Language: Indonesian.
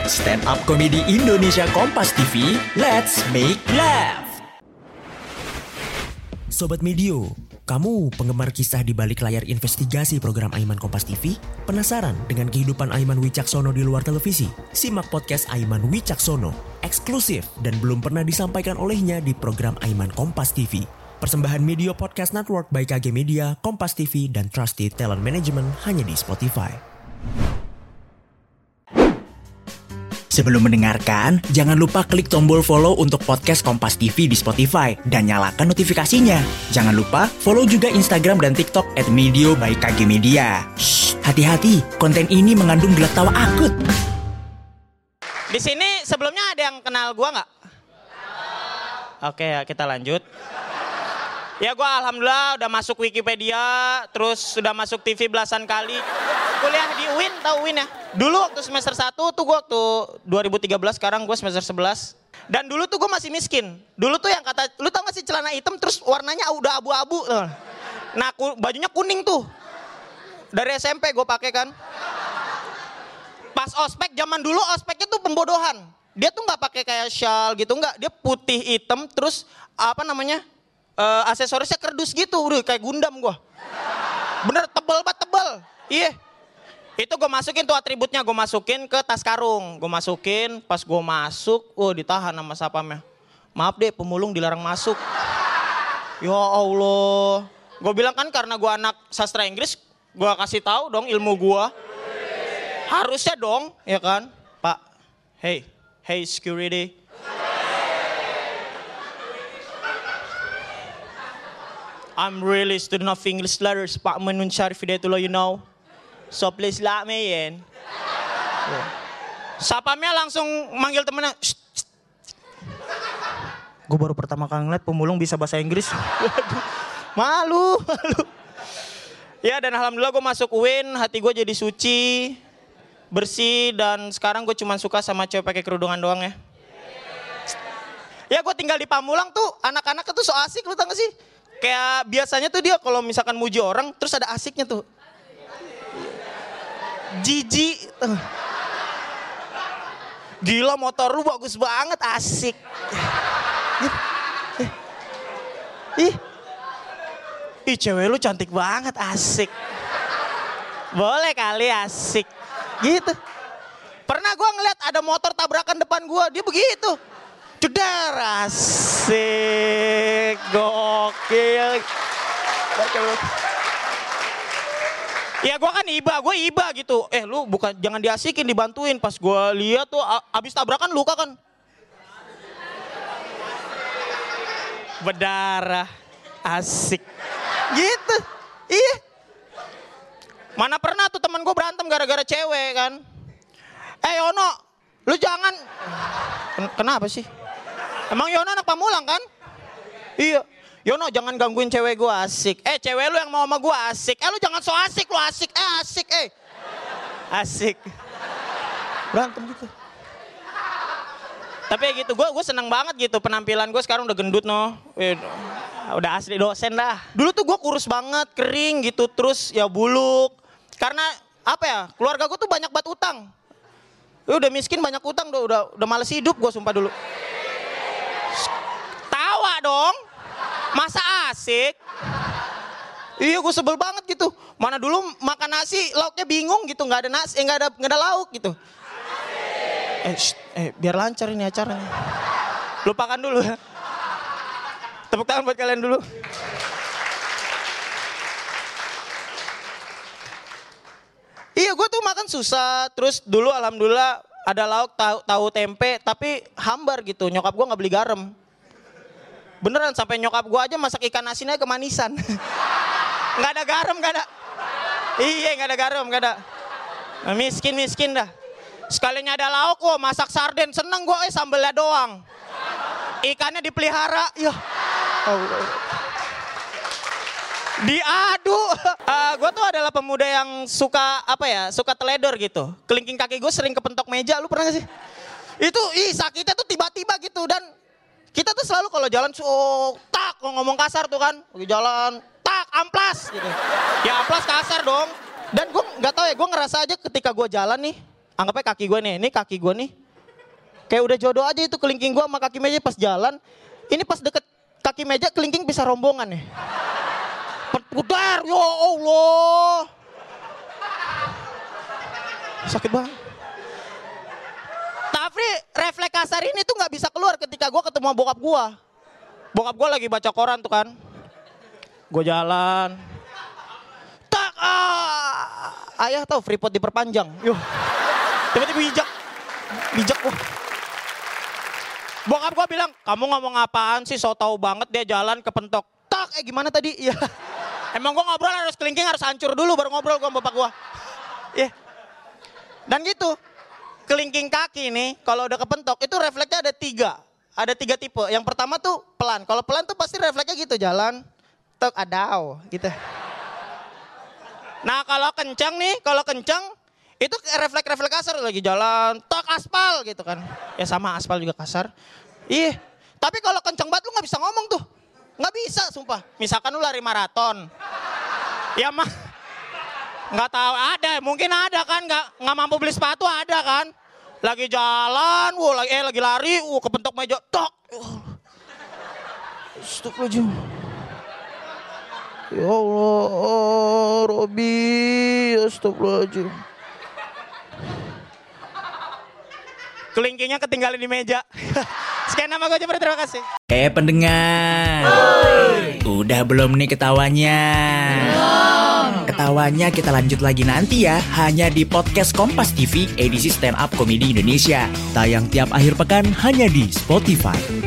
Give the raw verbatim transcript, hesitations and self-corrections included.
Stand up komedi Indonesia Kompas T V, let's make laugh. Sobat Medio, kamu penggemar kisah di balik layar investigasi program Aiman Kompas T V? Penasaran dengan kehidupan Aiman Wicaksono di luar televisi? Simak podcast Aiman Wicaksono, eksklusif dan belum pernah disampaikan olehnya di program Aiman Kompas T V. Persembahan Media Podcast Network by K G Media, Kompas T V, dan Trusted Talent Management hanya di Spotify. Sebelum mendengarkan, jangan lupa klik tombol follow untuk podcast Kompas T V di Spotify dan nyalakan notifikasinya. Jangan lupa follow juga Instagram dan TikTok at Medio by K G Media. Shh, hati-hati, konten ini mengandung gelak tawa akut. Di sini sebelumnya ada yang kenal gua nggak? Oke ya, kita lanjut. Ya gua alhamdulillah udah masuk Wikipedia, terus sudah masuk T V belasan kali. Kuliah di U I N, tahu U I N ya? Dulu waktu semester satu tuh gua waktu dua ribu tiga belas, sekarang gua semester sebelas. Dan dulu tuh gua masih miskin. Dulu tuh yang kata, lu tau gak sih celana hitam terus warnanya udah abu-abu. Nah bajunya kuning tuh. Dari S M P gua pakai kan. Pas ospek, zaman dulu ospeknya tuh pembodohan. Dia tuh gak pakai kayak shawl gitu, enggak. Dia putih hitam terus apa namanya? Uh, aksesorisnya kerdus gitu, udah kayak Gundam gua. Bener tebel banget tebel. Iya. Itu gue masukin tuh atributnya, gue masukin ke tas karung. Gue masukin, pas gue masuk, oh ditahan sama sapamnya. Maaf deh, pemulung dilarang masuk. Ya Allah. Gue bilang kan karena gue anak sastra Inggris, gue kasih tahu dong ilmu gue. Harusnya dong, ya kan? Pak, hey, hey security. I'm really student of English letters, Pak Menun Syarif Hidayatullah, you know. So please let me in. Yeah. Sapamnya langsung manggil temennya. Gue baru pertama kali ngeliat pemulung bisa bahasa Inggris. malu, malu. Ya dan alhamdulillah gue masuk U I N, hati gue jadi suci, bersih, dan sekarang gue cuma suka sama cewek pakai kerudungan doang ya. Ya gue tinggal di Pamulang tuh, anak-anaknya tuh so asik, lu tau gak sih? Kayak biasanya tuh dia kalau misalkan muji orang, terus ada asiknya tuh. Jijik. Gila motor lu bagus banget, asik. Ih. Ih cewek lu cantik banget, asik. Boleh kali asik. Gitu. Pernah gua ngeliat ada motor tabrakan depan gua, dia begitu. Cedar, asik, gokil. Ya gue kan iba, gue iba gitu. Eh lu bukan, jangan diasikin, dibantuin. Pas gue lihat tuh abis tabrakan luka kan. Berdarah, asik. Gitu, iya. Mana pernah tuh teman gue berantem gara-gara cewek kan. Eh Yono, lu jangan. Kenapa sih? Emang Yono anak Pamulang kan? Iya. Yono jangan gangguin cewek gue, asik. Eh cewek lu yang mau sama gue, asik. Eh lu jangan so asik, lu asik. Eh asik eh. Asik. Berantem gitu. Tapi gitu, gue gue seneng banget gitu. Penampilan gue sekarang udah gendut no. Udah asli dosen dah. Dulu tuh gue kurus banget, kering gitu. Terus ya buluk. Karena apa ya, keluarga gue tuh banyak banget utang. Udah miskin banyak utang, udah, udah, udah males hidup gue sumpah dulu. Tawa dong. Masa asik? Iya gue sebel banget gitu. Mana dulu makan nasi lauknya bingung gitu, nggak ada nasi, eh, nggak ada nggak ada lauk gitu. Eh, shh, eh biar lancar ini acaranya. Lupakan dulu ya. Tepuk tangan buat kalian dulu. Iya gue tuh makan susah. Terus dulu alhamdulillah ada lauk tahu, tahu tempe, tapi hambar gitu. Nyokap gue nggak beli garam. Beneran sampai nyokap gue aja masak ikan asinnya kemanisan. Nggak ada garam, nggak ada. Iya nggak ada garam, nggak ada. Miskin miskin dah. Sekalinya ada lauk, wah masak sarden seneng gue, eh sambelnya doang. Ikannya dipelihara, ya. Oh. Diadu. Uh, gue tuh adalah pemuda yang suka apa ya, suka teledor gitu. Kelingking kaki gue sering kepentok meja, lu pernah gak sih? Itu ih sakitnya tuh tiba-tiba gitu. Dan kita tuh selalu kalau jalan, oh, tak, ngomong kasar tuh kan. Lagi jalan, tak, amplas gitu. Ya amplas kasar dong. Dan gue gak tahu ya, gue ngerasa aja ketika gue jalan nih, Anggapnya kaki gue nih, ini kaki gue nih. Kayak udah jodoh aja itu kelingking gue sama kaki meja pas jalan. Ini pas deket kaki meja kelingking bisa rombongan nih. Pudar, ya Allah. Sakit banget. Tapi refleks kasar ini tuh gak bisa keluar ketika gue ketemu bokap gue. Bokap gue lagi baca koran tuh kan. Gue jalan. Tak, ah. Ayah tahu Freeport diperpanjang. Yuh. Tiba-tiba bijak. Bijak gue. Bokap gue bilang, kamu ngomong apaan sih, so tau banget dia jalan kepentok. Tak, eh gimana tadi? Ya. Emang gue ngobrol harus kelingking, harus hancur dulu baru ngobrol gue sama bapak gue. Iya. Yeah. Dan gitu, kelingking kaki nih, kalau udah kepentok, itu refleksnya ada tiga. Ada tiga tipe. Yang pertama tuh pelan. Kalau pelan tuh pasti refleksnya gitu, jalan, tek, adau, gitu. Nah kalau kencang nih, kalau kencang, itu refleks-refleks kasar lagi jalan, tek aspal gitu kan. Ya sama aspal juga kasar. Ih, tapi kalau kencang banget lu gak bisa ngomong tuh. Gak bisa sumpah. Misalkan lu lari maraton. Ya mah, gak tahu ada, mungkin ada kan, gak, gak mampu beli sepatu ada kan. Lagi jalan, wuh, lagi, eh lagi lari, wuh kepentok meja, tok. Astagfirullahaladzim. Ya Allah, Robi, astagfirullahaladzim. Kelingkingnya ketinggalan di meja. Sekian nama gue Jepri, terima kasih. Eh pendengar, Oi. Udah belum nih ketawanya? Belum. Ketawanya kita lanjut lagi nanti ya, hanya di podcast Kompas T V edisi Stand Up Comedy Indonesia. Tayang tiap akhir pekan hanya di Spotify.